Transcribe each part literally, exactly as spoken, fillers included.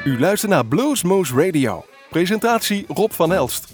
U luistert naar Bluesmoose Radio. Presentatie Rob van Elst.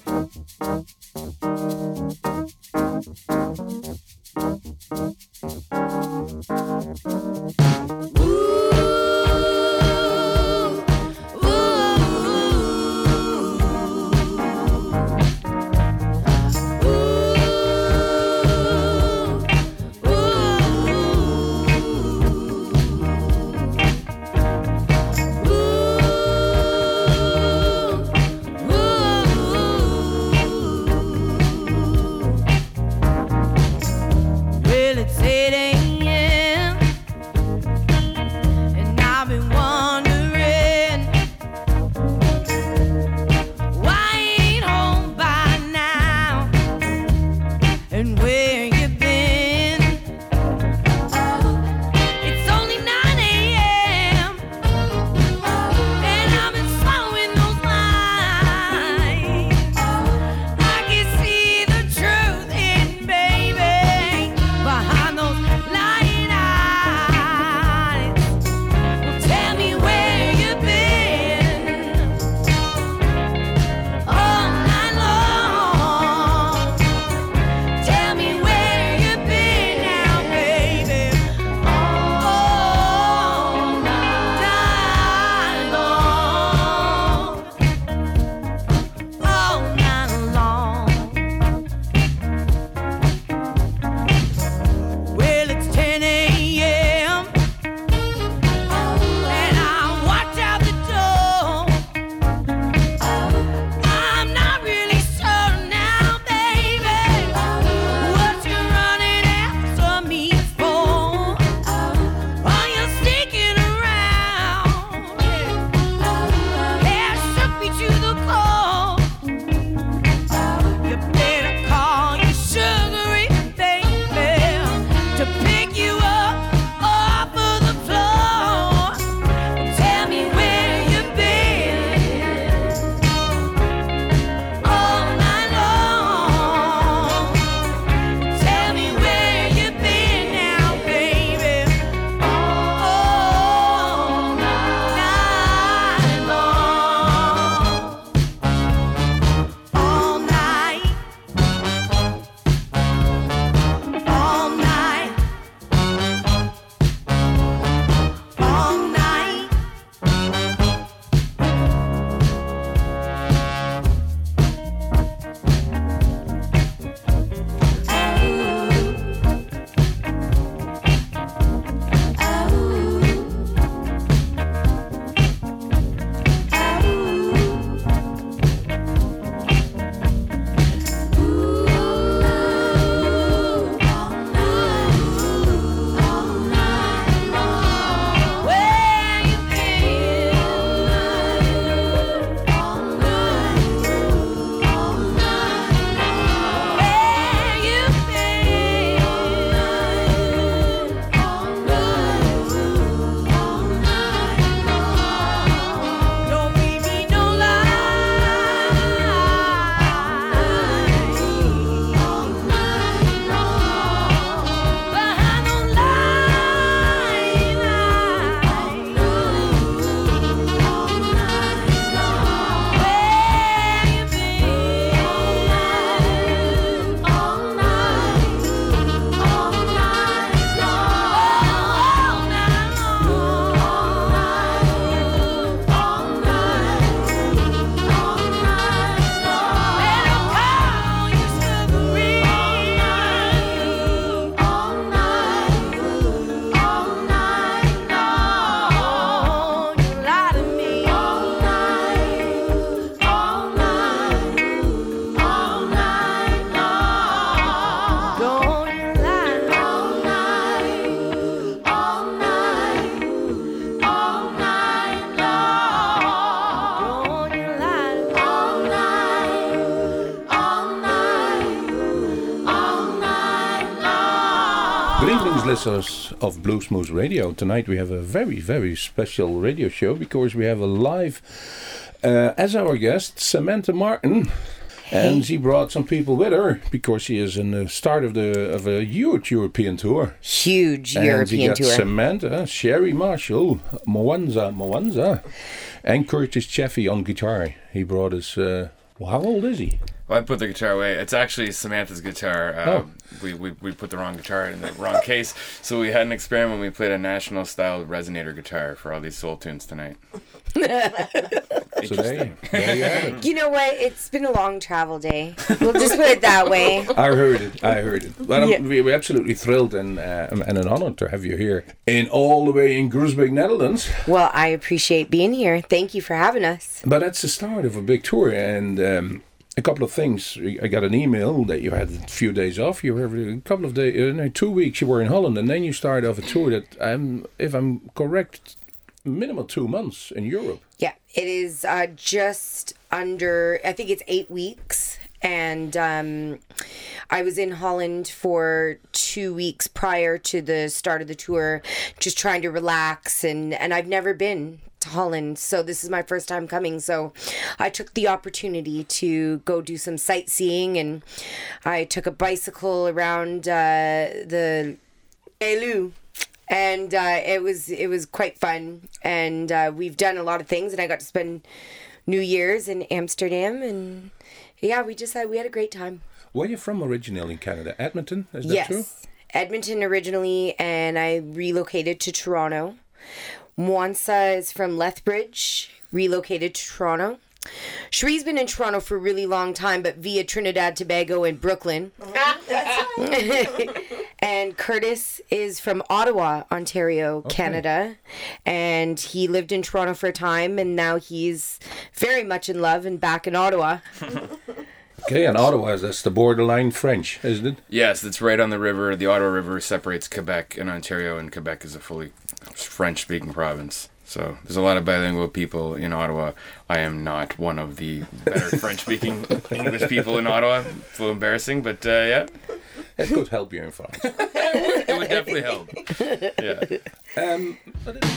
Listeners of Bluesmoose Radio. Tonight we have a very, very special radio show because we have a live, uh, as our guest, Samantha Martin. And she brought some people with her because she is in the start of the of a huge European tour. Huge and European she got tour. Samantha, Sherry Marshall, Mwanza, Mwanza, and Curtis Chaffee on guitar. He brought us. Uh, well, how old is he? Well, I put the guitar away. It's actually Samantha's guitar. Uh, Oh. we, we we put the wrong guitar in the wrong case. So we had an experiment. We played a national style resonator guitar for all these soul tunes tonight. So there you, there you have it. You know what? It's been a long travel day. We'll just put it that way. I heard it. I heard it. Well, Yeah. I'm, we- we're absolutely thrilled and uh, and an honor to have you here in all the way in Groesbeek, Netherlands. Well, I appreciate being here. Thank you for having us. But that's the start of a big tour, and um, a couple of things. I got an email that you had a few days off. You were a couple of days, uh, no, two weeks. You were in Holland, and then you started off a tour that, um, if I'm correct, minimum two months in Europe. Yeah, it is uh, just under, I think it's eight weeks. And um, I was in Holland for two weeks prior to the start of the tour, just trying to relax. And, and I've never been to Holland, so this is my first time coming. So I took the opportunity to go do some sightseeing, and I took a bicycle around uh, the Elu. And uh, it was it was quite fun, and uh, we've done a lot of things, and I got to spend New Year's in Amsterdam, and yeah, we just had we had a great time. Where are you from originally in Canada? Edmonton, is that Yes, true? Edmonton originally, and I relocated to Toronto. Mwansa is from Lethbridge, relocated to Toronto. Cherie's been in Toronto for a really long time, but via Trinidad, Tobago, and Brooklyn. And Curtis is from Ottawa, Ontario, Okay. Canada. And he lived in Toronto for a time, and now he's very much in love and back in Ottawa. Okay, and Ottawa, that's the borderline French, isn't it? Yes, it's right on the river. The Ottawa River separates Quebec and Ontario, and Quebec is a fully French-speaking province. So there's a lot of bilingual people in Ottawa. I am not one of the better French-speaking English people in Ottawa. It's a little embarrassing, but uh, yeah, It could help you in France. it would definitely help. Yeah. Um, but it-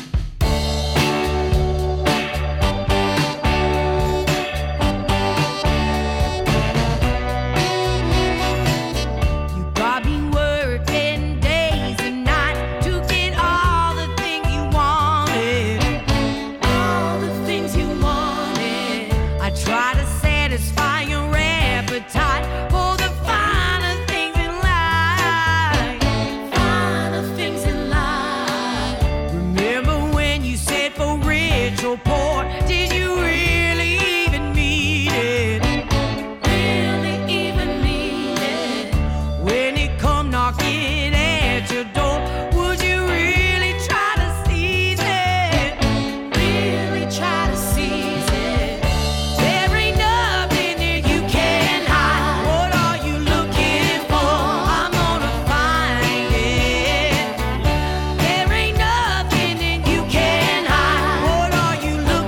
You got me working days and nights to get all the things you wanted. All the things you wanted. I try to satisfy your appetite for the finer things in life. Finer things in life. Remember when you said for rich or poor, did you really even mean it? Really even mean it? When it come knocking at your door, would you really try to seize it? Really try to seize it? There ain't nothing that you can hide. What are you looking for? I'm gonna find it. There ain't nothing that you can hide. What are you looking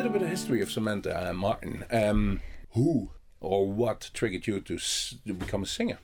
little bit of history of Samantha uh, Martin. Um, who or what triggered you to, s- to become a singer?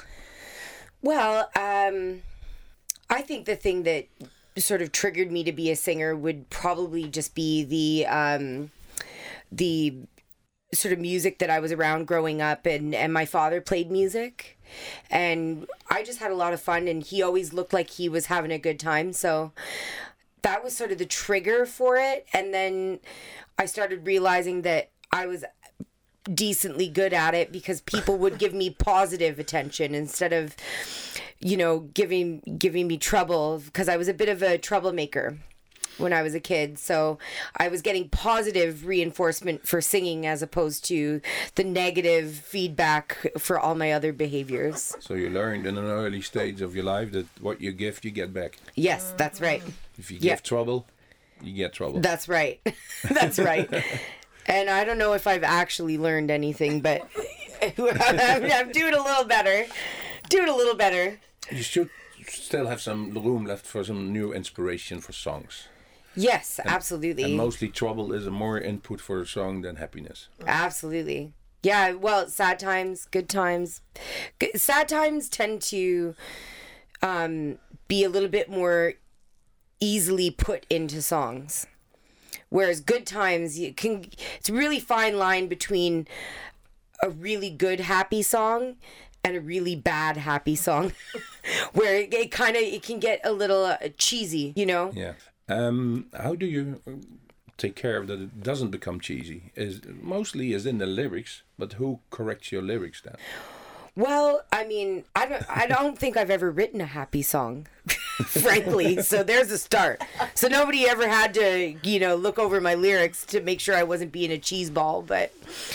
Well, um, I think the thing that sort of triggered me to be a singer would probably just be the um, the sort of music that I was around growing up, and, and my father played music, and I just had a lot of fun, and he always looked like he was having a good time, so that was sort of the trigger for it. And then I started realizing that I was decently good at it because people would give me positive attention instead of, you know, giving giving me trouble, because I was a bit of a troublemaker when I was a kid. So I was getting positive reinforcement for singing as opposed to the negative feedback for all my other behaviors. So you learned in an early stage of your life that what you give, you get back. Yes, that's right. If you Yeah. give trouble, you get trouble. That's right. That's right. And I don't know if I've actually learned anything, but I'm, I'm doing a little better. Doing a little better. You should still have some room left for some new inspiration for songs. Yes, absolutely. And mostly trouble is a more input for a song than happiness. Absolutely. Yeah, well, sad times, good times. G- Sad times tend to um, be a little bit more easily put into songs. Whereas good times, you can, it's a really fine line between a really good happy song and a really bad happy song. Where it, it kind of, it can get a little uh, cheesy, you know? Yeah. Um, how do you take care of that it doesn't become cheesy? Is mostly is in the lyrics, but who corrects your lyrics then? Well, I mean, I don't I don't think I've ever written a happy song, frankly. So there's a start. So nobody ever had to, you know, look over my lyrics to make sure I wasn't being a cheeseball. But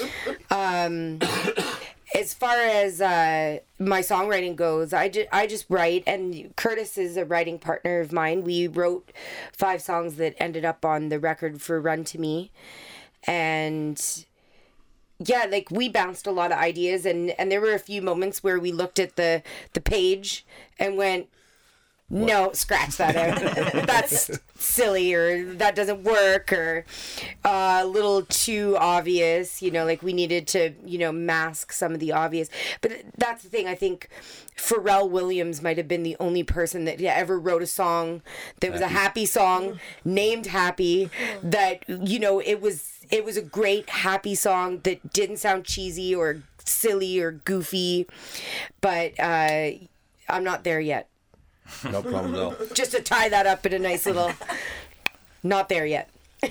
um, as far as uh, my songwriting goes, I, ju- I just write, and Curtis is a writing partner of mine. We wrote five songs that ended up on the record for Run to Me. And yeah, like we bounced a lot of ideas, and, and there were a few moments where we looked at the, the page and went, no, scratch that out. That's silly, or that doesn't work, or uh, a little too obvious, you know, like we needed to, you know, mask some of the obvious. But that's the thing, I think Pharrell Williams might have been the only person that ever wrote a song that was a happy song, named Happy, that, you know, it was it was a great happy song that didn't sound cheesy or silly or goofy, but uh, I'm not there yet. No problem at all. Just to tie that up in a nice little... Not there yet.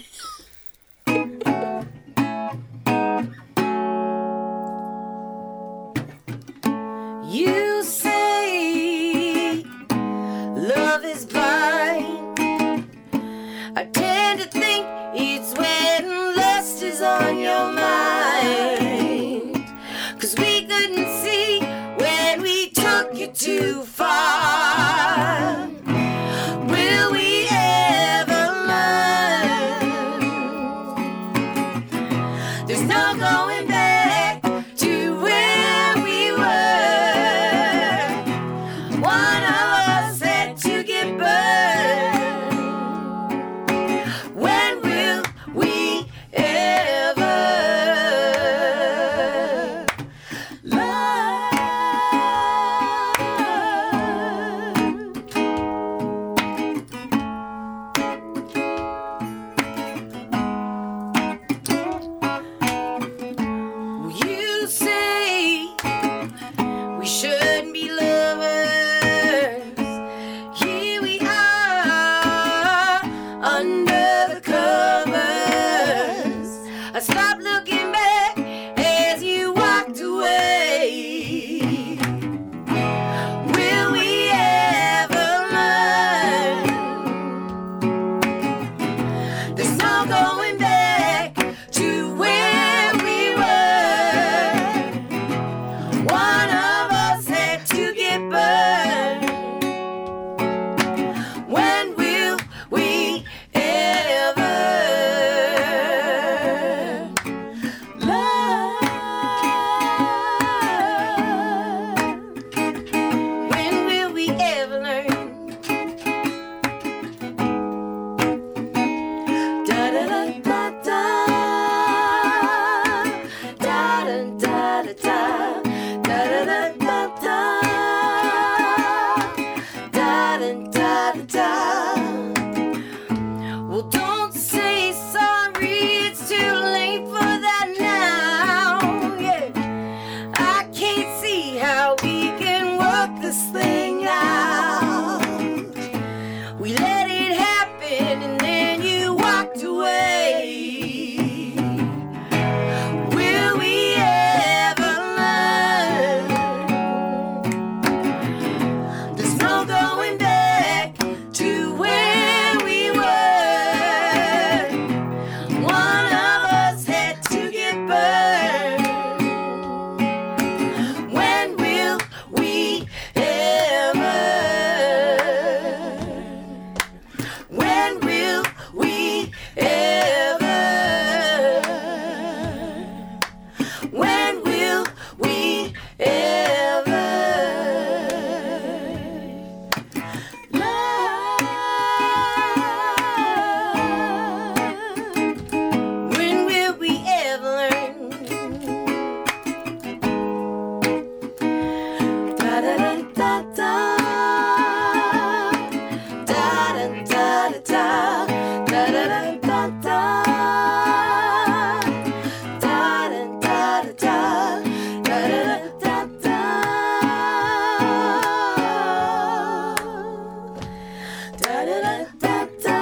You say love is blind. I tend to think it's when lust is on your mind. 'Cause we couldn't see when we took you too far. Will we ever learn? There's no going back to where we were. One of us had to get burned. When will we ever love? da da da. Well, don't say sorry, it's too late for that now. Yeah, I can't see how we can work this thing out. We let it happen and then you walked away. Will we ever learn? There's no going back to where we were. One of us had to get burned. When will we ever? When will we ever? When will we ever love? When will we ever learn? Da da da da da. Da da da da da. Da da da da da. Da da da da da. Da da da da da. Da da da da da.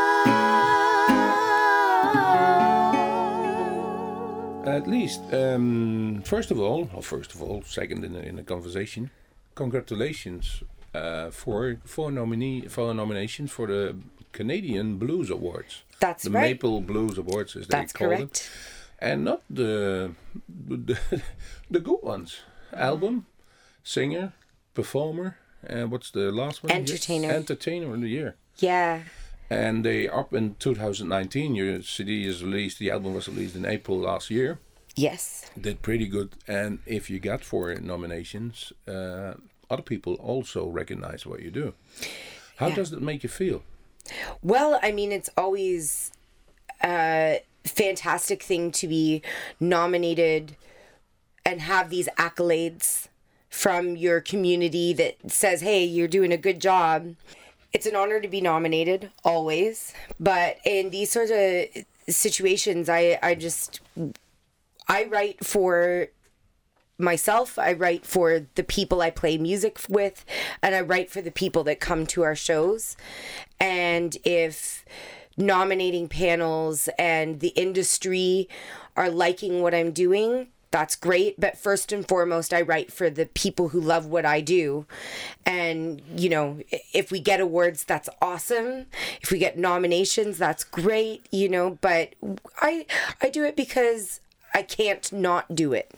At least, um, first of all, or first of all, second in the, in the conversation, congratulations uh, for for nominee for nominations for the Canadian Blues Awards. That's the right. Maple Blues Awards, as they That's call correct. it, and not the the, the good ones. Album, singer, performer, and what's the last one? Yes, Entertainer. Entertainer of the year. Yeah. And they up in two thousand nineteen. Your C D is released. The album was released in April last year. Yes. Did pretty good. And if you got four nominations, uh, other people also recognize what you do. How Yeah. does that make you feel? Well, I mean, it's always a fantastic thing to be nominated and have these accolades from your community that says, hey, you're doing a good job. It's an honor to be nominated, always. But in these sorts of situations, I, I just, I write for myself, I write for the people I play music with, and I write for the people that come to our shows. And if nominating panels and the industry are liking what I'm doing, that's great. But first and foremost, I write for the people who love what I do. And, you know, if we get awards, that's awesome. If we get nominations, that's great, you know, but I I do it because I can't not do it.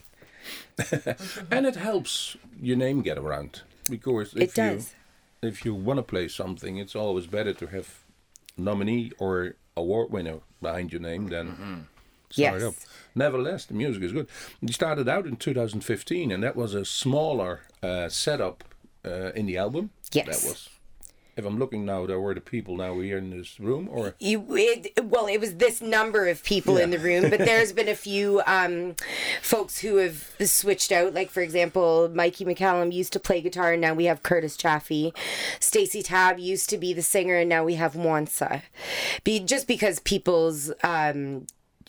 And it helps your name get around, because if It does. you if you want to play something, it's always better to have nominee or award winner behind your name than start Yes. up. Nevertheless, the music is good. You started out in two thousand fifteen, and that was a smaller uh, setup uh, in the album. Yes. That was. If I'm looking now, there were the people now here in this room, or You, it, well, it was this number of people in Yeah. the room, but there's been a few um, folks who have switched out. Like, for example, Mikey McCallum used to play guitar, and now we have Curtis Chaffee. Stacey Tabb used to be the singer, and now we have Wansa. Be, just because people's um,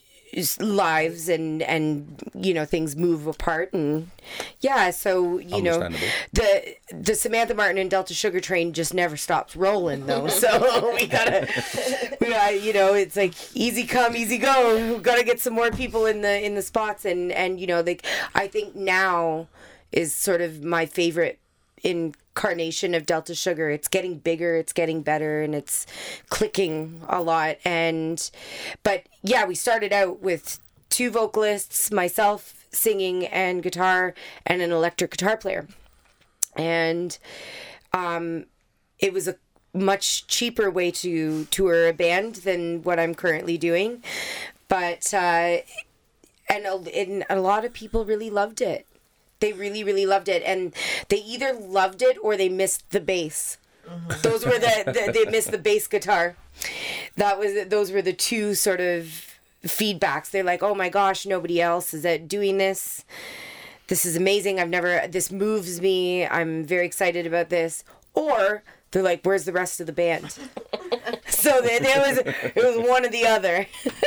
lives and and you know things move apart, and yeah, so you know Understandable. the the Samantha Martin and Delta Sugar Train just never stops rolling though. So we gotta, we gotta, you know, it's like easy come, easy go. We gotta get some more people in the in the spots, and and you know, like I think now is sort of my favorite incarnation of Delta Sugar. It's getting bigger, it's getting better, and it's clicking a lot. And but yeah, we started out with two vocalists, myself singing and guitar, and an electric guitar player. And um, it was a much cheaper way to tour a band than what I'm currently doing. But uh, and a, and a lot of people really loved it. They really, really loved it, and they either loved it or they missed the bass. Those were the, the they missed the bass guitar. That was those were the two sort of feedbacks. They're like, "Oh my gosh, nobody else is at doing this. This is amazing. I've never. This moves me. I'm very excited about this." Or They're like, "Where's the rest of the band?" So there, there was it was one or the other.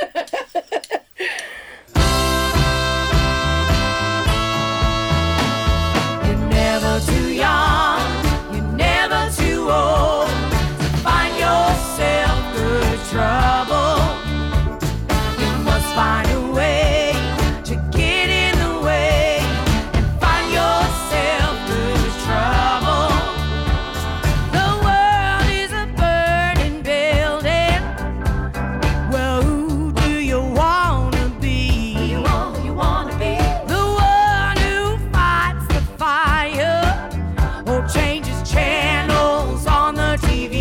You're never too young, you're never too old to find yourself good trouble. You must find a way to get in the way and find yourself good trouble. The world is a burning building. Well, who do you wanna be? Who you want, who you wanna be? The one who fights the fire or changes channels on the T V.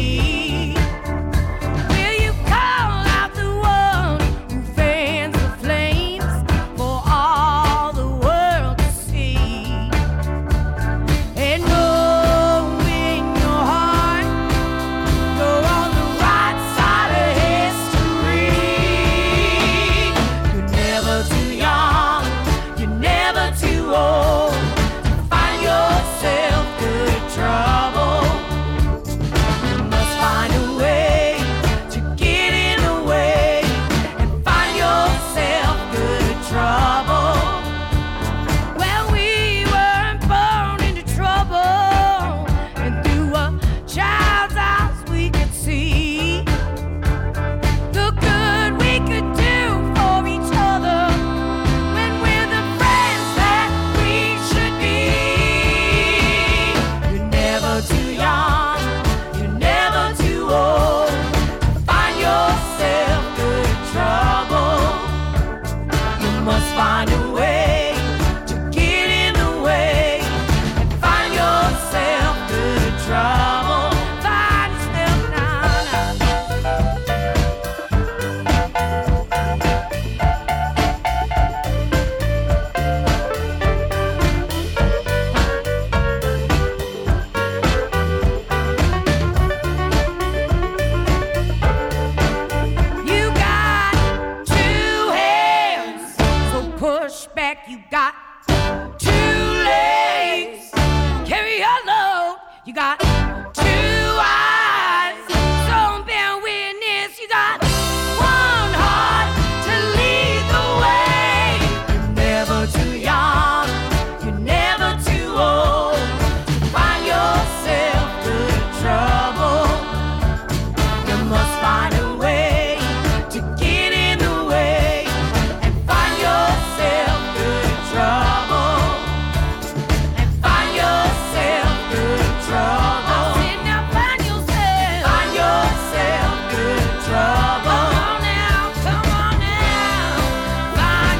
Will you call out the one who fans the flames for all the world to see? And know in your heart you're on the right side of history. You're never too young, you're never too old to find yourself good trouble. You must find a way to get in the way and find yourself good trouble. Well, we weren't born into trouble, and through a child's eyes we could see the good we could do for each other when we're the friends that we should be. You're never too young, you're never too old to find yourself good trouble. You must find a way to get in the way and find yourself good trouble. Find yourself now, now. You got two hands, so push back. You got two legs, carry your load. You got two eyes, so bear witness. You got one heart to lead the way. You're never too young, you're never too old to find yourself good trouble. You must find a way to get in the way and find yourself good trouble. And find yourself good trouble. I said now find yourself. Find yourself good trouble. Come on now, come on now. Find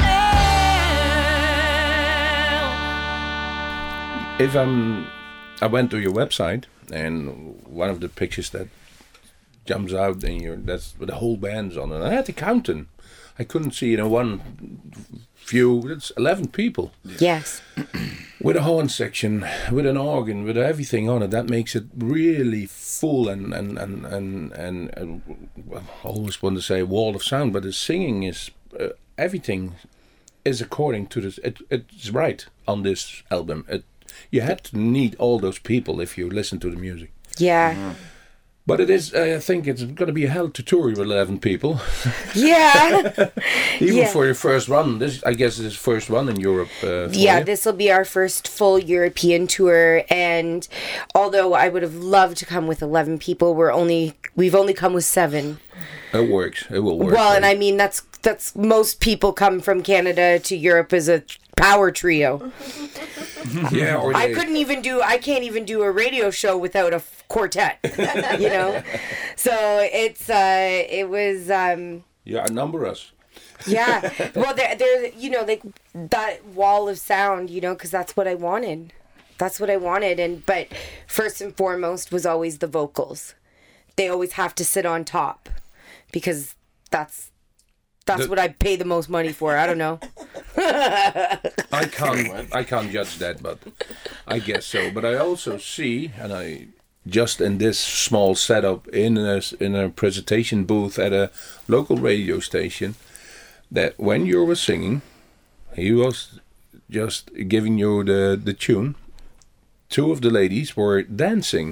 yourself. If I'm, I went to your website, and one of the pictures that jumps out in your, that's the whole band's on it. I had to count them. I couldn't see it in one view. It's eleven people Yes. with a horn section, with an organ, with everything on it. That makes it really full and and and and, and, and well, I always want to say wall of sound, but the singing is uh, everything is according to this. It, it's right on this album. It, you had to need all those people if you listen to the music. Yeah. But it is, uh, I think it's going to be a hell to tour with eleven people. Yeah. Even Yeah. for your first run. This, I guess, is first one in Europe. Uh, for Yeah, you. this will be our first full European tour, and although I would have loved to come with eleven people, we're only we've only come with seven. It works. It will work. Well, and right? I mean that's that's most people come from Canada to Europe as a power trio. yeah, or I they- couldn't even do I can't even do a radio show without a f- quartet, you know. So it's uh it was um Yeah, outnumber us. yeah. Well, there there you know like that wall of sound, you know, because that's what I wanted. That's what I wanted, and but first and foremost was always the vocals. They always have to sit on top because that's that's The- what I pay the most money for. I don't know. I can't. I can't judge that, but I guess so. But I also see, and I just in this small setup in a in a presentation booth at a local radio station, that when you were singing, he was just giving you the the tune. Two of the ladies were dancing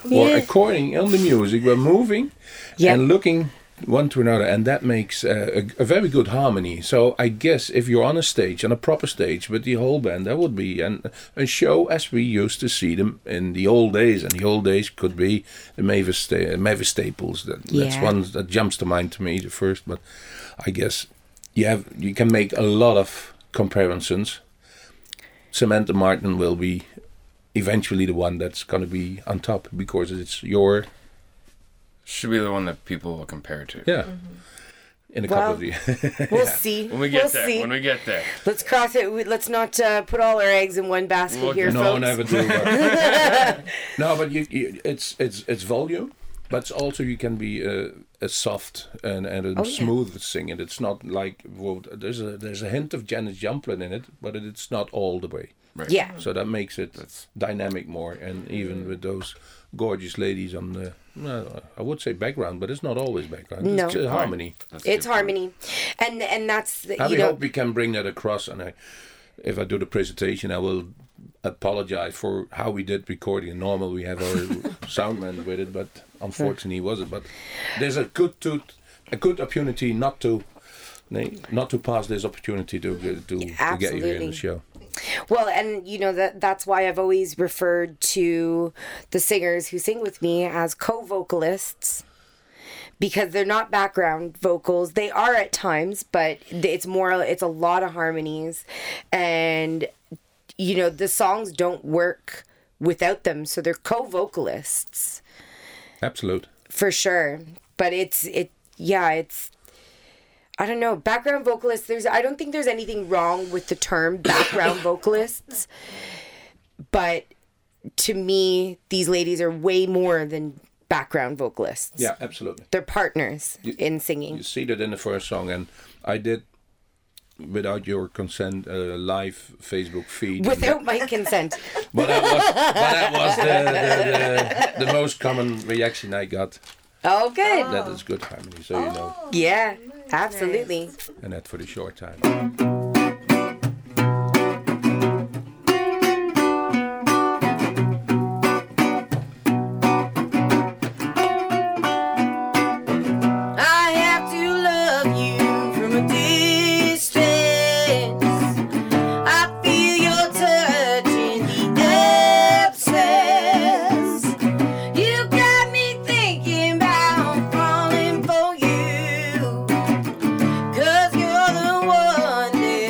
or Yeah. according on the music, we're moving Yeah. and looking one to another, and that makes uh, a, a very good harmony. So I guess if you're on a stage, on a proper stage with the whole band, that would be an, a show as we used to see them in the old days. And the old days could be the Mavis, Sta- Mavis Staples. That, That's Yeah. one that jumps to mind to me the first. But I guess you have you can make a lot of comparisons. Samantha Martin will be eventually the one that's going to be on top because it's your Should be the one that people will compare to. yeah. In a couple Well, of years. We'll see. When we get we'll there. see. When we get there. Let's cross it. We- Let's not uh, put all our eggs in one basket Well, here, no, folks. never do. But no, but you, you, it's it's it's volume, but it's also you can be a, a soft and, and a Oh, yeah. smooth singing. It's not like well, there's a there's a hint of Janis Joplin in it, but it, it's not all the way. Right. Yeah. So that makes it dynamic more, and even with those gorgeous ladies on the, well, I would say background, but it's not always background. No. It's just harmony. That's a It's good point. harmony, and and that's the, I you we know. hope we can bring that across, and I, if I do the presentation, I will apologize for how we did recording. Normal, we have our soundman with it, but unfortunately, he wasn't. But there's a good to, a good opportunity not to, nay, not to pass this opportunity to to, to get you here in Absolutely. the show. Well, and you know that that's why I've always referred to the singers who sing with me as co-vocalists, because they're not background vocals. They are at times, but it's more it's a lot of harmonies, and you know the songs don't work without them, so they're co-vocalists Absolute. for sure. But it's it yeah, it's I don't know, background vocalists, there's I don't think there's anything wrong with the term background vocalists. But to me, these ladies are way more than background vocalists. Yeah, absolutely. They're partners You- in singing. You see that in the first song, and I did, without your consent, a live Facebook feed. Without my consent. But that was, but that was the, the, the, the most common reaction I got. Oh, good. That is good harmony, so you know. Yeah, absolutely. And that for the short time. I have to love you from a distance. I feel your touch in the absence. You got me thinking about falling for you. 'Cause you're the one that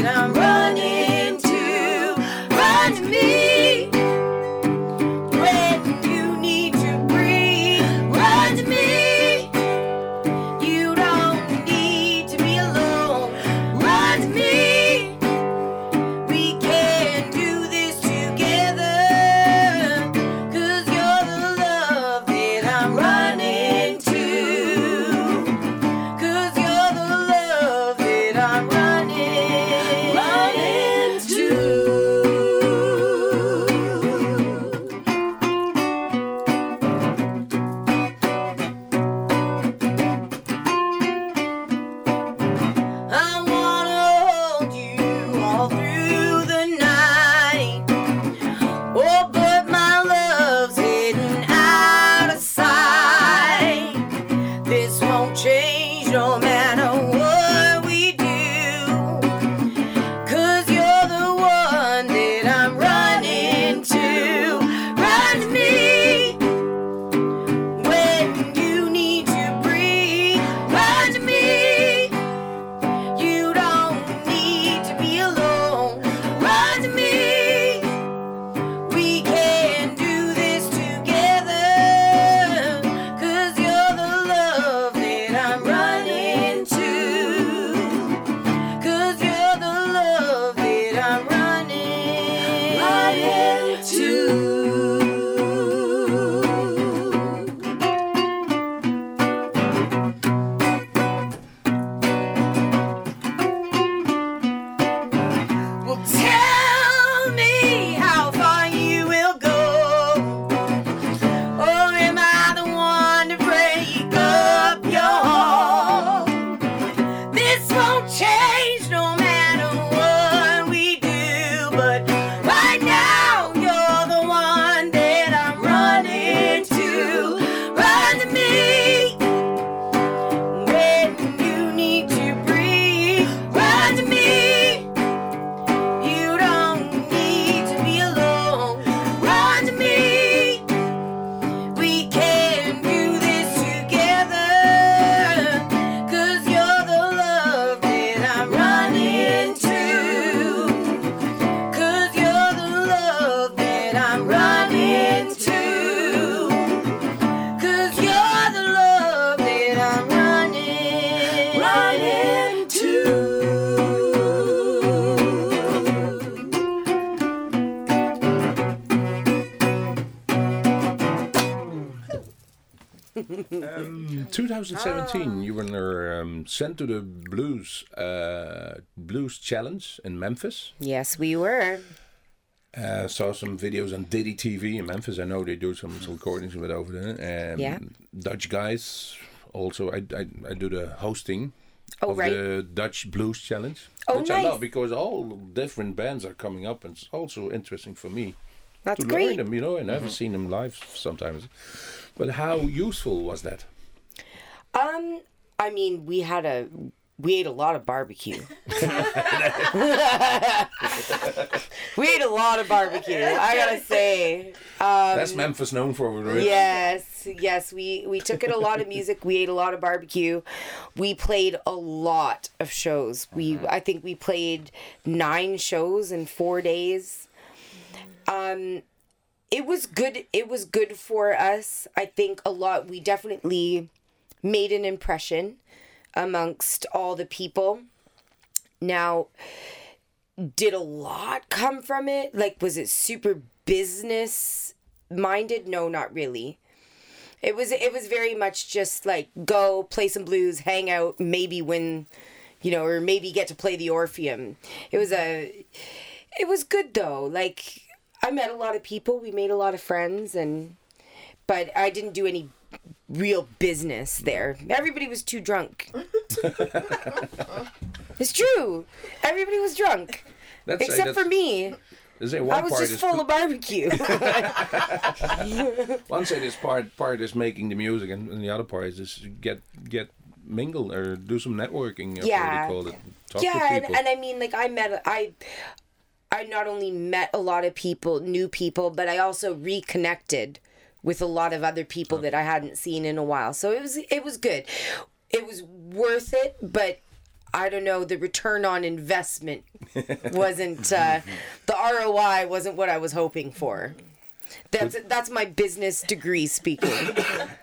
um, twenty seventeen, you were um, sent to the Blues uh, Blues Challenge in Memphis. Yes, we were. Uh, saw some videos on Diddy T V in Memphis. I know they do some, some recordings with over there. Um, Yeah. Dutch guys. Also, I, I, I do the hosting Oh, of right. the Dutch Blues Challenge. Oh, which I nice. love because all different bands are coming up, and it's also interesting for me That's to great. learn them. You know, I never seen them live sometimes. But how useful was that? Um, I mean, we had a we ate a lot of barbecue. We ate a lot of barbecue. I gotta say. Um, That's Memphis known for. Right? Yes, yes. We we took in a lot of music. We ate a lot of barbecue. We played a lot of shows. We I think we played nine shows in four days. Um, it was good. It was good for us. I think a lot. We definitely made an impression amongst all the people. Now, did a lot come from it? Like, was it super business minded? No, not really. It was it was very much just like go play some blues, hang out, maybe win, you know, or maybe get to play the Orpheum. It was a it was good though. Like, I met a lot of people, we made a lot of friends, and but I didn't do any real business there. Everybody was too drunk. It's true. Everybody was drunk. That's, Except that's, for me. They say one I was part just is full of barbecue. one say this part part is making the music, and, and the other part is just get get mingle or do some networking. Or Yeah. what do you call it? Talk yeah, to and, people. and I mean, like, I met, I, I not only met a lot of people, new people, but I also reconnected with a lot of other people that I hadn't seen in a while. So it was, it was good. It was worth it, but I don't know, the return on investment wasn't, uh, the R O I wasn't what I was hoping for. That's, that's my business degree speaking.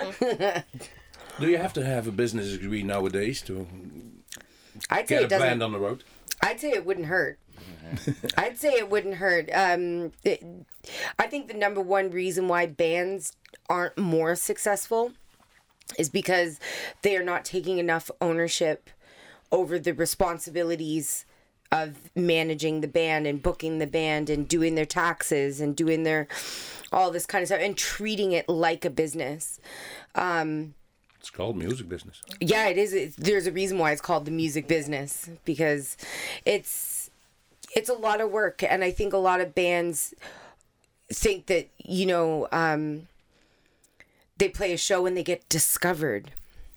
Do you have to have a business degree nowadays to I'd say get it a doesn't. band on the road? I'd say it wouldn't hurt. I'd say it wouldn't hurt. Um, it, I think the number one reason why bands aren't more successful is because they are not taking enough ownership over the responsibilities of managing the band and booking the band and doing their taxes and doing their all this kind of stuff and treating it like a business. Um, It's called music business. yeah, it is. It's, there's a reason why it's called the music business, because it's it's a lot of work, and I think a lot of bands think that, you know, um, they play a show and they get discovered.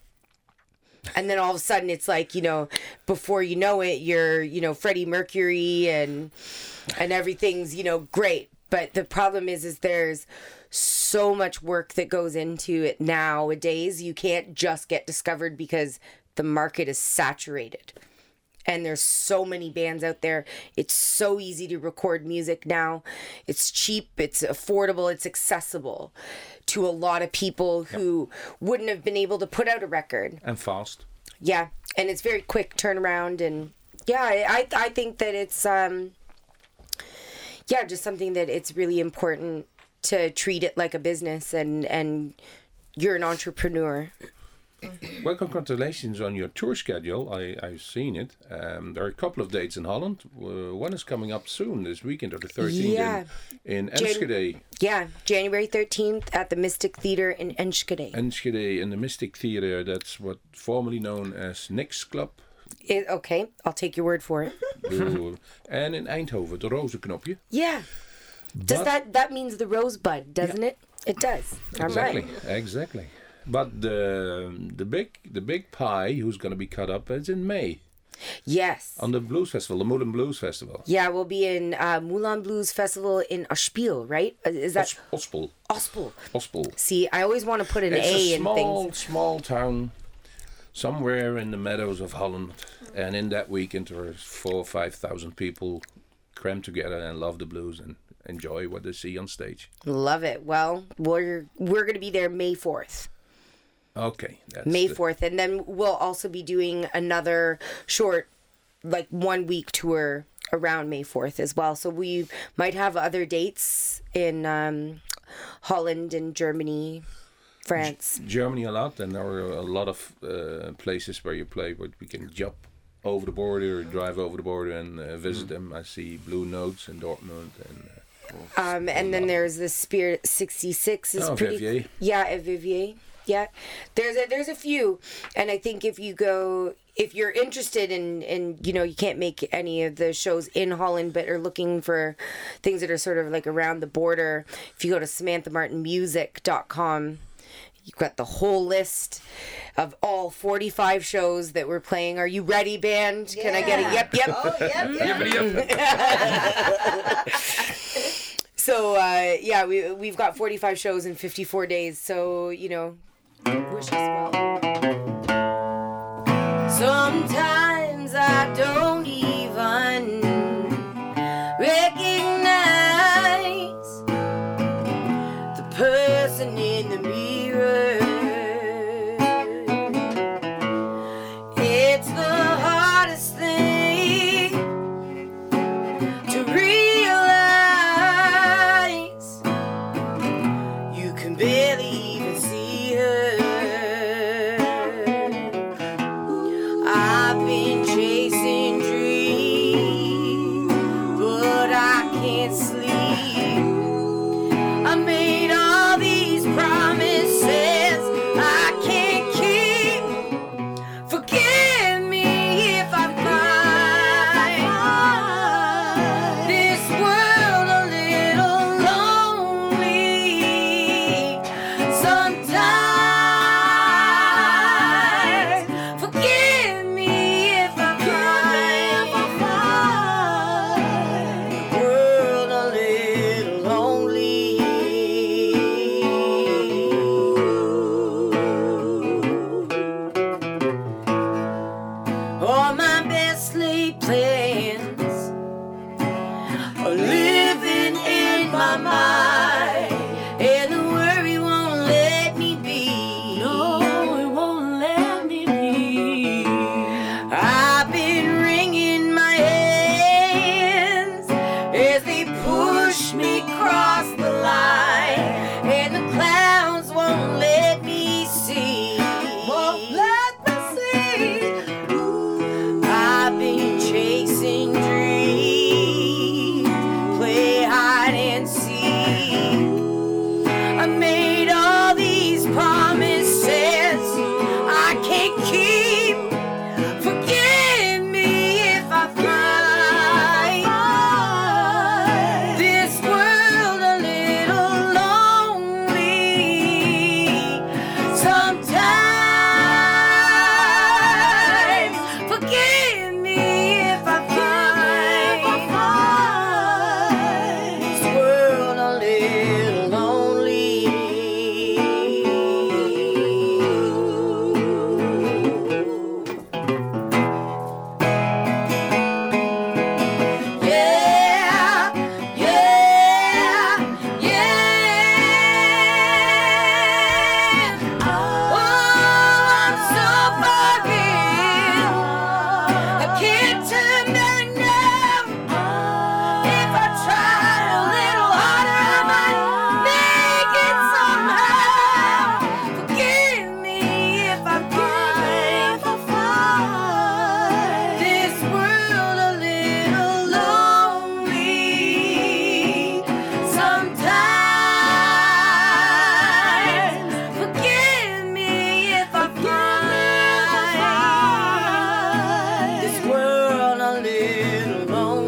And then all of a sudden it's like, you know, before you know it, you're, you know, Freddie Mercury and and everything's, you know, great. But the problem is, is there's so much work that goes into it nowadays. You can't just get discovered because the market is saturated. And there's so many bands out there. It's so easy to record music now. It's cheap, it's affordable, it's accessible to a lot of people who wouldn't have been able to put out a record. And fast. Yeah, and it's very quick turnaround, and yeah, I I think that it's um yeah, just something that it's really important to treat it like a business, and and you're an entrepreneur. Well, congratulations on your tour schedule. I, I've seen it. Um, there are a couple of dates in Holland. Uh, one is coming up soon, this weekend, or the thirteenth Yeah. in, in Jan- Enschede. Yeah, January thirteenth at the Mystic Theater in Enschede. Enschede in the Mystic Theater. That's what formerly known as Nick's Club. It, okay, I'll take your word for it. Ooh. And in Eindhoven, the Rozenknopje. Yeah. Does But- that that means the rosebud, doesn't it? It does. I'm Exactly, right. exactly. But the the big the big pie who's going to be cut up is in May Yes. on the Blues Festival, the Moulin Blues Festival. Yeah, we'll be in uh, Moulin Blues Festival in Ospel, right? Uh, Is that Os- Ospel, Ospel? Ospel. See, I always want to put an It's A a in small things. small town somewhere in the meadows of Holland, and in that weekend there are four or five thousand people crammed together and love the blues and enjoy what they see on stage. Love it. Well, we're we're gonna be there May fourth. Okay, that's May the- fourth, and then we'll also be doing another short, like one week tour around May fourth as well. So we might have other dates in um, Holland and Germany. France. Germany a lot, and there are a lot of uh, places where you play where we can jump over the border or drive over the border and uh, visit them. I see Blue Notes in Dortmund and. Uh, Um, and then there's the Spirit sixty-six is Oh, pretty. Vivier. Yeah, at Vivier. Yeah, there's a there's a few, and I think if you go, if you're interested in, in you know, you can't make any of the shows in Holland, but are looking for things that are sort of like around the border. If you go to samantha martin music dot com, you've got the whole list of all forty-five shows that we're playing. Are you ready, band? Can I get a yep, yep? Oh, yep, yep. Yippity yip. So uh, yeah, we we've got forty-five shows in fifty-four days. So you know, wish us well. Sometimes I don't even recognize the person in the mirror. It's the hardest thing to realize. You can barely even see her. I've been chasing dreams, but I can't sleep. I made all these promises I can't keep. Forgive me if I find this world a little lonely sometimes. Forgive me if I find the world a little lonely. All my best laid plans are living in my mind, and the worry won't let me be. No, it won't let me be. I've been wringing my hands as they push me across the line, and the clouds won't let me see. Won't let me see. I've been chasing dreams, play hide and seek. I made all these promises I can't keep. Forgive me if I find this world a little lonely sometimes. Forgive me if I find this world a little lonely. Yeah, yeah, yeah. Oh, I'm so far in. I can't turn back now. If I try a little harder, I might make it somehow. Forgive me if I find this world a little lonely sometimes. Forgive me if I find this world a little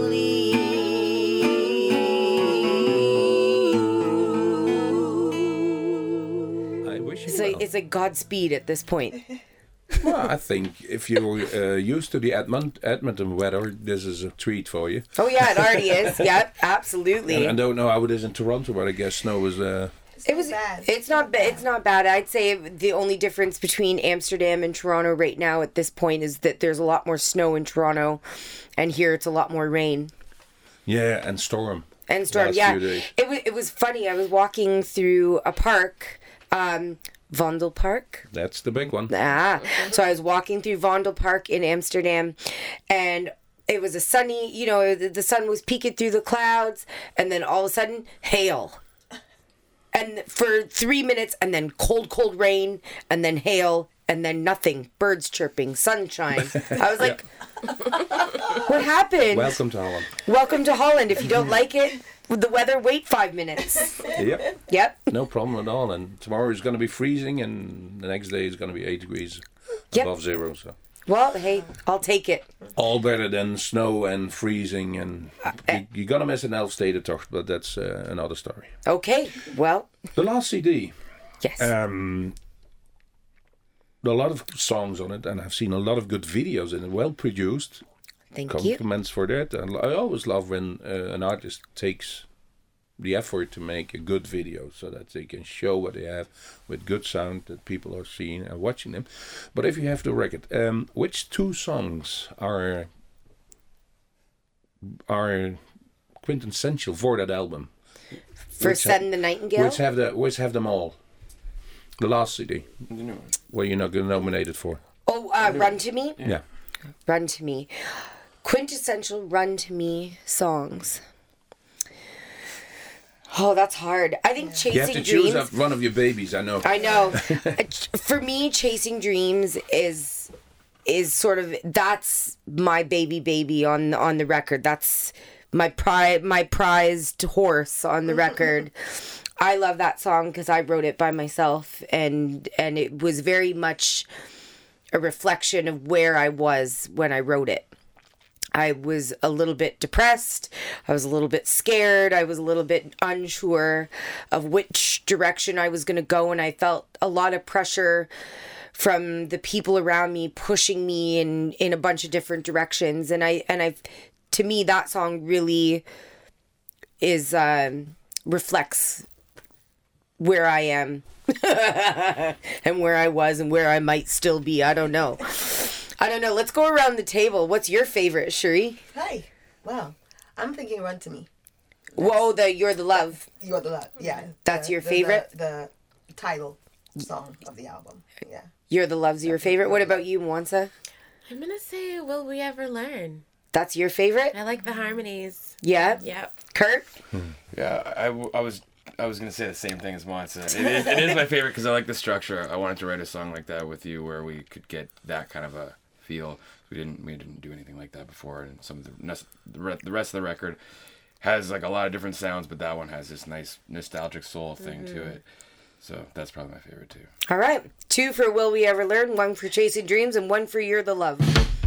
lonely. I wish you It's like well. it's like Godspeed at this point. Well, I think if you're uh, used to the Edmont- Edmonton weather, this is a treat for you. Oh yeah, it already is. Yep, absolutely. And I don't know how it is in Toronto, but I guess snow is. Uh, It was. bad. It's not. ba- It's not bad. I'd say the only difference between Amsterdam and Toronto right now at this point is that there's a lot more snow in Toronto, and here it's a lot more rain yeah, and storm. and storm. Last Yeah, few days. it was. It was funny. I was walking through a park, um, Vondel Park. That's the big one. Ah, so I was walking through Vondel Park in Amsterdam, and it was a sunny. You know, the, the sun was peeking through the clouds, and then all of a sudden, hail. and for three minutes, and then cold, cold rain, and then hail, and then nothing. Birds chirping, sunshine. I was like, what happened? Welcome to Holland. Welcome to Holland. If you don't like it, with the weather, wait five minutes. Yep. Yep. No problem at all. And tomorrow is going to be freezing, and the next day is going to be eight degrees Yep. above zero. So Well, hey, I'll take it. all better than snow and freezing. And you, you're going to miss an Elfstedentocht, but that's uh, another story. Okay. Well, The last C D. yes. Um, there are a lot of songs on it, and I've seen a lot of good videos in it, well produced. Thank you. Compliments for that. And I always love when uh, an artist takes the effort to make a good video so that they can show what they have with good sound that people are seeing and watching them. But if you have the record, um, which two songs are are quintessential for that album? For which Send ha- the Nightingale? Which have the which have them all? The last C D. The new one. Where you're not getting nominated for. oh, uh, Run to Me? Yeah. Run to Me. Quintessential Run to Me songs. Oh, that's hard. I think Chasing You have to Dreams. choose up one of your babies, I know. I know. Uh, ch- For me, Chasing Dreams is is sort of that's my baby baby on on the record. That's my pri my prized horse on the record. I love that song because I wrote it by myself, and and it was very much a reflection of where I was when I wrote it. I was a little bit depressed. I was a little bit scared. I was a little bit unsure of which direction I was going to go. And I felt a lot of pressure from the people around me pushing me in, in a bunch of different directions. And I, and I, to me, that song really is, um, reflects where I am and where I was and where I might still be. I don't know. I don't know. Let's go around the table. What's your favorite, Cherie? Hi. Wow. I'm thinking Run to Me. Whoa, the You're the Love. You're the love. Yeah. That's The- your the- favorite? The, the title song of the album. Yeah. You're the Love's your favorite. What about you, Mwansa? I'm gonna say, Will We Ever Learn? That's your favorite? I like the harmonies. Yeah. Yep. Kurt? Yeah, I, w- I was I was gonna say the same thing as Monsa. It is, it is my favorite because I like the structure. I wanted to write a song like that with you where we could get that kind of a feel. We didn't we didn't do anything like that before, and some of the nes- the re- the rest of the record has like a lot of different sounds, but that one has this nice nostalgic soul thing Mm-hmm. to it. So that's probably my favorite too. All right. Two for Will We Ever Learn, one for Chasing Dreams, and one for You're the Love.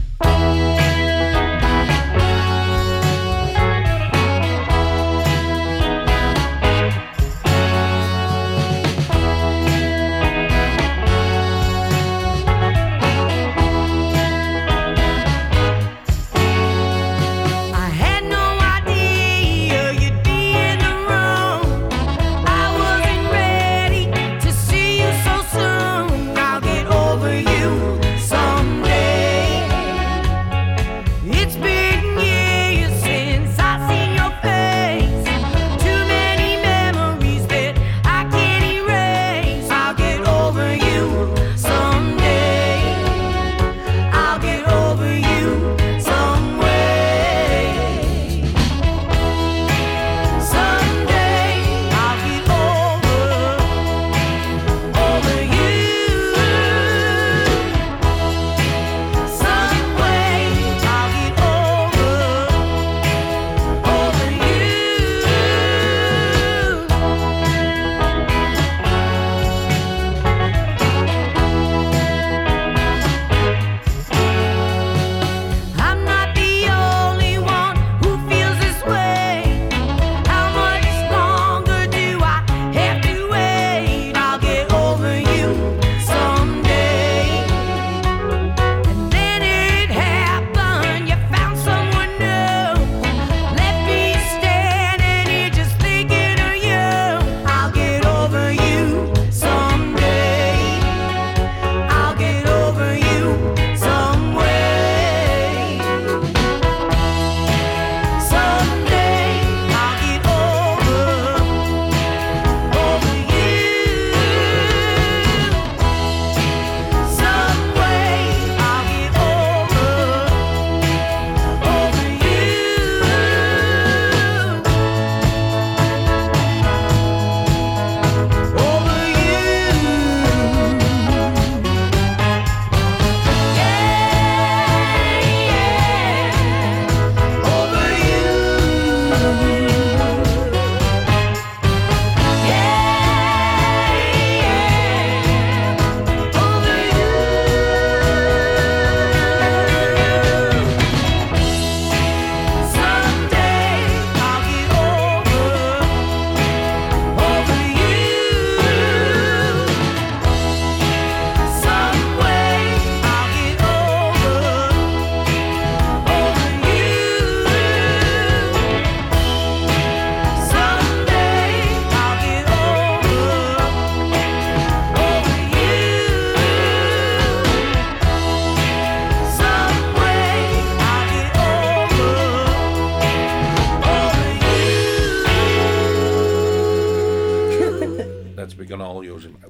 I had no idea you'd be in the room. I wasn't ready to see you so soon. I'll get over you someday.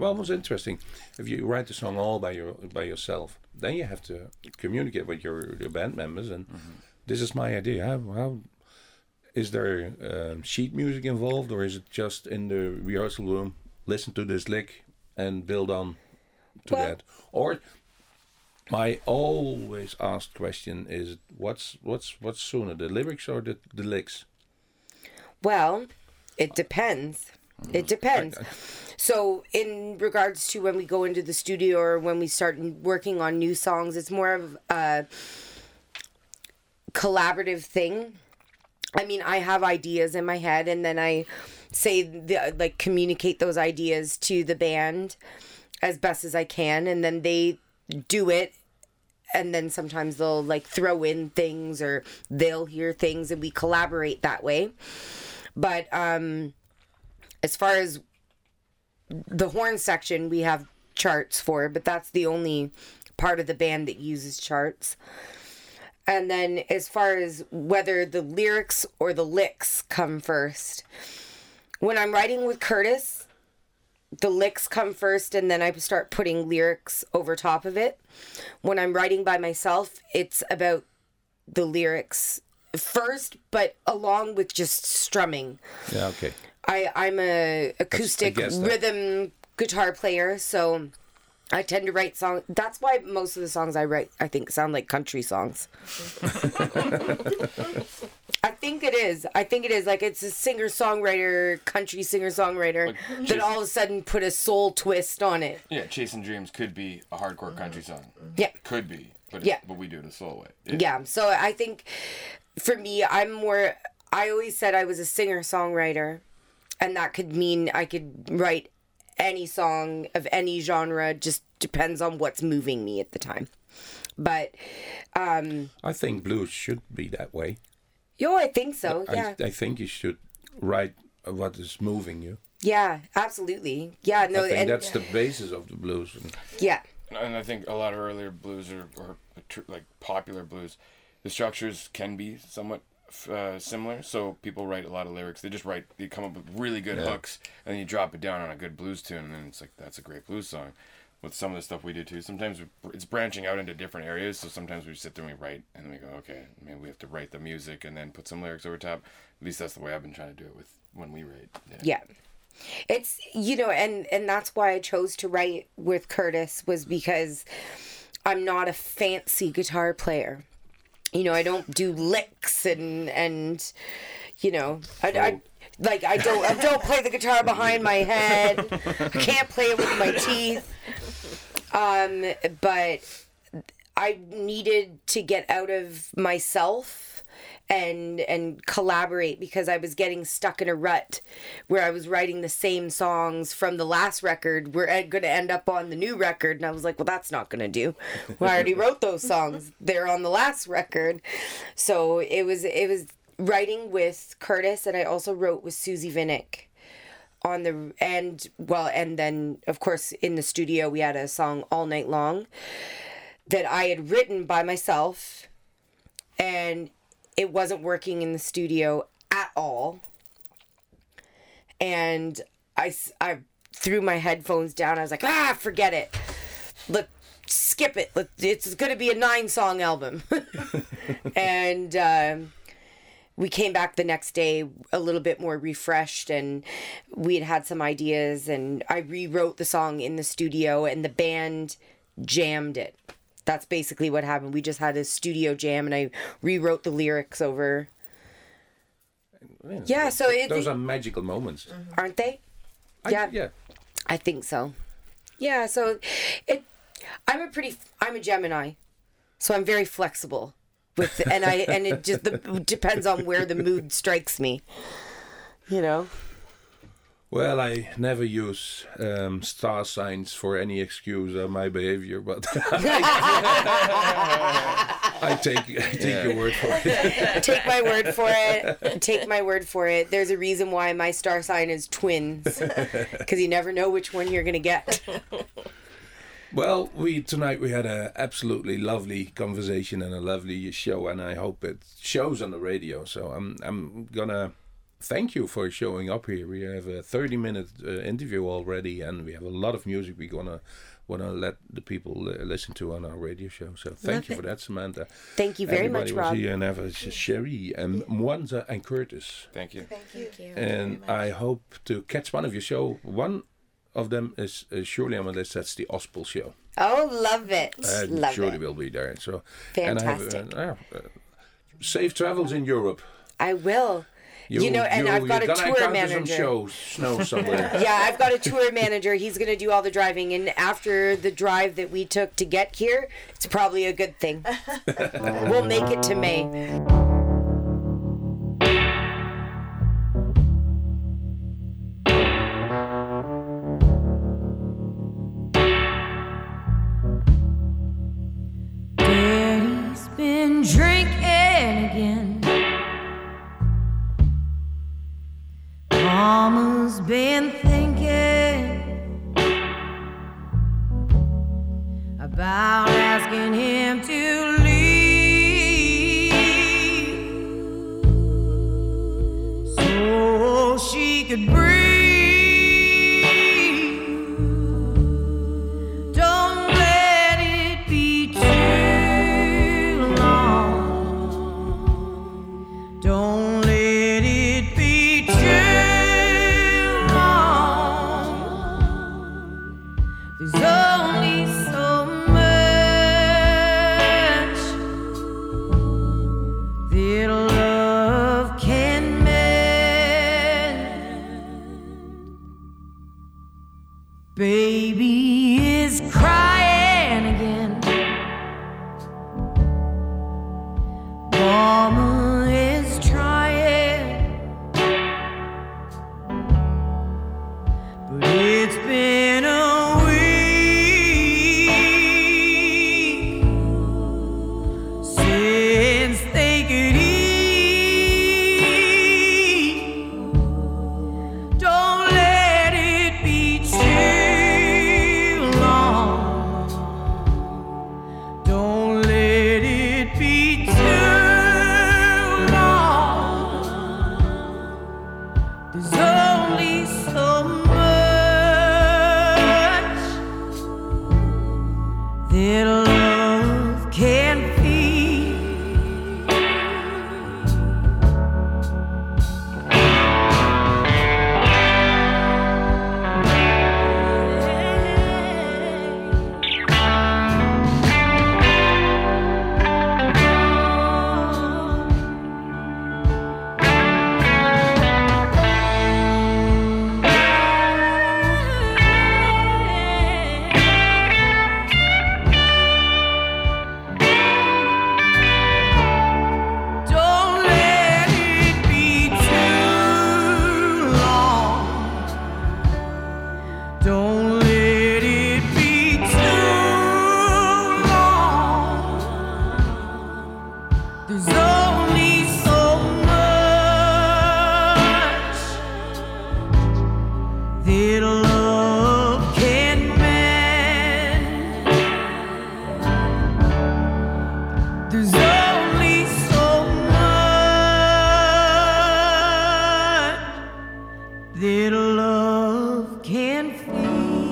well, it was interesting. If you write the song all by your by yourself, then you have to communicate with your, your band members. And Mm-hmm. this is my idea. How, how is there um, sheet music involved, or is it just in the rehearsal room? Listen to this lick and build on to Well- that. Or my always asked question is, what's what's what's sooner, the lyrics or the the licks? Well, it depends. It depends. So, in regards to when we go into the studio or when we start working on new songs, it's more of a collaborative thing. I mean, I have ideas in my head, and then I say, the, like, communicate those ideas to the band as best as I can, and then they do it. And then sometimes they'll, like, throw in things, or they'll hear things, and we collaborate that way. But um, as far as the horn section, we have charts for, but that's the only part of the band that uses charts. And then as far as whether the lyrics or the licks come first, when I'm writing with Curtis, the licks come first, and then I start putting lyrics over top of it. When I'm writing by myself, it's about the lyrics first, but along with just strumming. Yeah, okay. I, I'm a acoustic guess that- rhythm guitar player, so I tend to write songs. That's why most of the songs I write, I think, sound like country songs. I think it is. I think it is. Like, it's a singer-songwriter, country singer-songwriter Like, that all of a sudden put a soul twist on it. Yeah, Chasing Dreams could be a hardcore country song. Yeah. Could be, but Yeah. but we do it a soul way. Yeah. So I think for me, I'm more, I always said I was a singer-songwriter, and that could mean I could write any song of any genre, just depends on what's moving me at the time. But, um, I think blues should be that way. yo, I think so. I, Yeah. I think you should write what is moving you. Yeah, absolutely. Yeah, no, I think and that's the basis of the blues. And yeah. And I think a lot of earlier blues or, or tr- like popular blues, the structures can be somewhat uh, similar. So people write a lot of lyrics. They just write, they come up with really good Yeah. hooks, and then you drop it down on a good blues tune, and then it's like, that's a great blues song. With some of the stuff we do too, sometimes it's branching out into different areas. So sometimes we sit there and we write, and then we go, okay, maybe we have to write the music and then put some lyrics over top. At least that's the way I've been trying to do it with when we write. Yeah. It's, you know, and and that's why I chose to write with Curtis, was because I'm not a fancy guitar player. You know, I don't do licks and and you know, I, I like I don't I don't play the guitar behind my head. I can't play it with my teeth. Um, but I needed to get out of myself and and collaborate, because I was getting stuck in a rut where I was writing the same songs from the last record. We're going to end up on the new record, and I was like, well, that's not going to do. Well, I already wrote those songs. They're on the last record. So it was it was writing with Curtis, and I also wrote with Susie Vinnick on the and well and then of course in the studio we had a song All Night Long that I had written by myself, and it wasn't working in the studio at all. And I, I threw my headphones down. I was like, ah, forget it. Let skip it. Let, it's going to be a nine song album. And um, we came back the next day a little bit more refreshed, and we had had some ideas, and I rewrote the song in the studio, and the band jammed it. That's basically what happened. We just had a studio jam, and I rewrote the lyrics over. you know, Yeah, so it- those are magical moments. Aren't they? I- Yeah. yeah. I think so. Yeah, so it I'm a pretty I'm a Gemini. So I'm very flexible with and I and it just the, depends on where the mood strikes me. You know. Well, I never use um, star signs for any excuse of my behavior, but I take I take your word for it. Take my word for it. Take my word for it. There's a reason why my star sign is twins, because you never know which one you're gonna get. Well, we tonight we had a absolutely lovely conversation and a lovely show, and I hope it shows on the radio. So I'm I'm gonna thank you for showing up here. We have a thirty minute uh, interview already, and we have a lot of music we're gonna wanna let the people uh, listen to on our radio show. So thank Love you it. for that, Samantha. Thank you very Everybody much, was Rob. here, and have a Sherry and Mwanza and Curtis. Thank you. Thank you. Thank you. And I hope to catch one of your show. One of them is uh, surely on my list. That's the Ospel show. Oh, love it. I love surely it. will be there. So Fantastic. And I have, uh, uh, safe travels in Europe. I will. You, know, and I've got a you're gonna tour encounter some manager. show, snow somewhere. Yeah, I've got a tour manager. He's going to do all the driving. And after the drive that we took to get here, it's probably a good thing. We'll make it to May. Daddy's been drinking again. Mama's been thinking about asking him to leave so she could breathe. Don't let it be too long. Don't let it be too long. There's only so much that love can mend. Baby is crying again. Mama is trying, but it's been a week since they could eat. Don't let it be too long. Don't let it be too long. There's only so much that love can feed. Don't let it be too long. Don't let it be too long. There's only so much that love can mend. There's only so much that love can feed.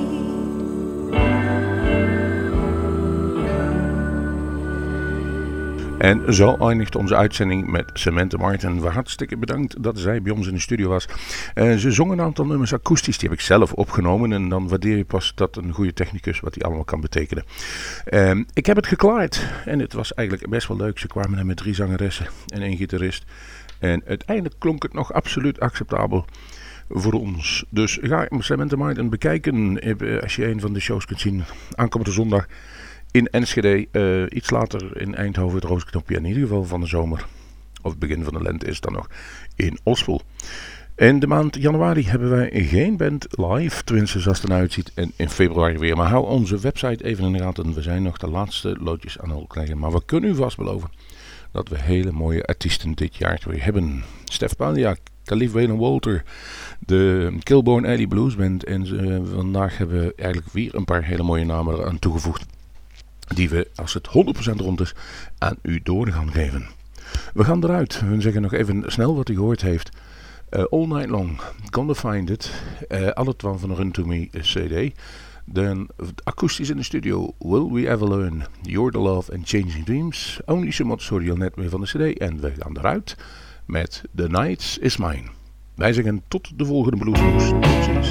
En zo eindigt onze uitzending met Samantha Martin. Hartstikke bedankt dat zij bij ons in de studio was. Uh, ze zong een aantal nummers akoestisch, die heb ik zelf opgenomen. En dan waardeer je pas dat een goede technicus, wat die allemaal kan betekenen. Uh, ik heb het geklaard en het was eigenlijk best wel leuk. Ze kwamen er met drie zangeressen en één gitarist. En uiteindelijk klonk het nog absoluut acceptabel voor ons. Dus ga Samantha Martin bekijken als je een van de shows kunt zien. Aankomende zondag in Enschede, uh, iets later in Eindhoven, het Roosknopje, in ieder geval van de zomer, of begin van de lente is het dan nog, in Ospel. In de maand januari hebben wij geen band live, tenminste zoals het eruit ziet, en in februari weer. Maar hou onze website even in de gaten, we zijn nog de laatste loodjes aan het krijgen. Maar we kunnen u vast beloven dat we hele mooie artiesten dit jaar weer hebben. Stef Palia, Khalif Waylon Walter, de Kilborn Alley Blues Band. En uh, vandaag hebben we eigenlijk weer een paar hele mooie namen eraan toegevoegd, die we, als het honderd procent rond is, aan u door gaan geven. We gaan eruit. We zeggen nog even snel wat u gehoord heeft. Uh, all Night Long, Gonna Find It. Uh, alle twaalf van de Run To Me C D. Dan akoestisch in de studio, Will We Ever Learn, You're The Love and Changing Dreams. Only So Much hoorde je al net weer van de C D. En we gaan eruit met The Night Is Mine. Wij zeggen tot de volgende Bluesmoes. Tot ziens.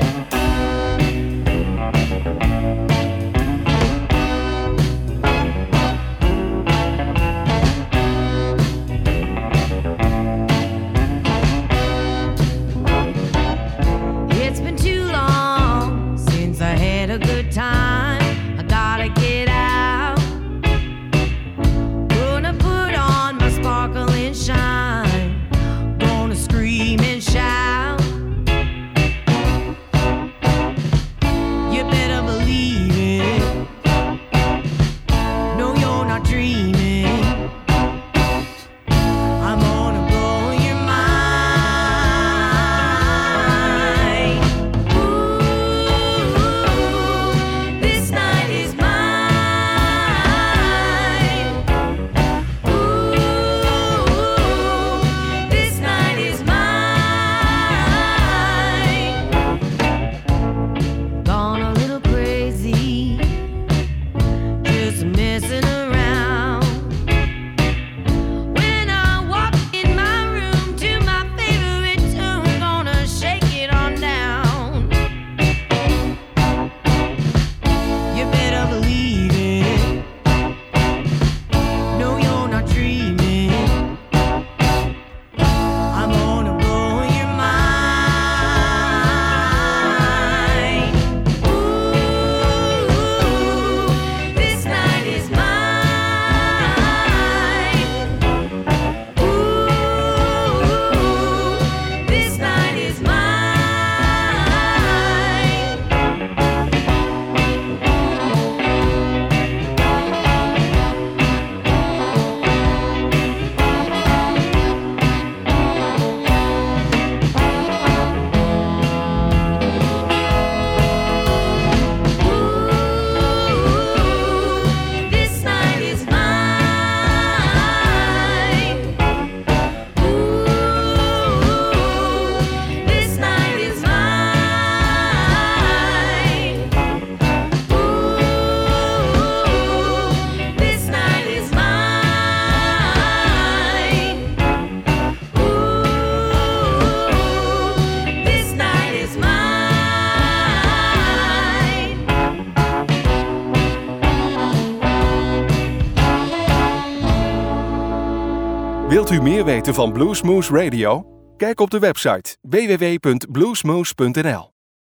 Wilt u meer weten van Bluesmoose Radio? Kijk op de website w w w punt bluesmoose punt n l.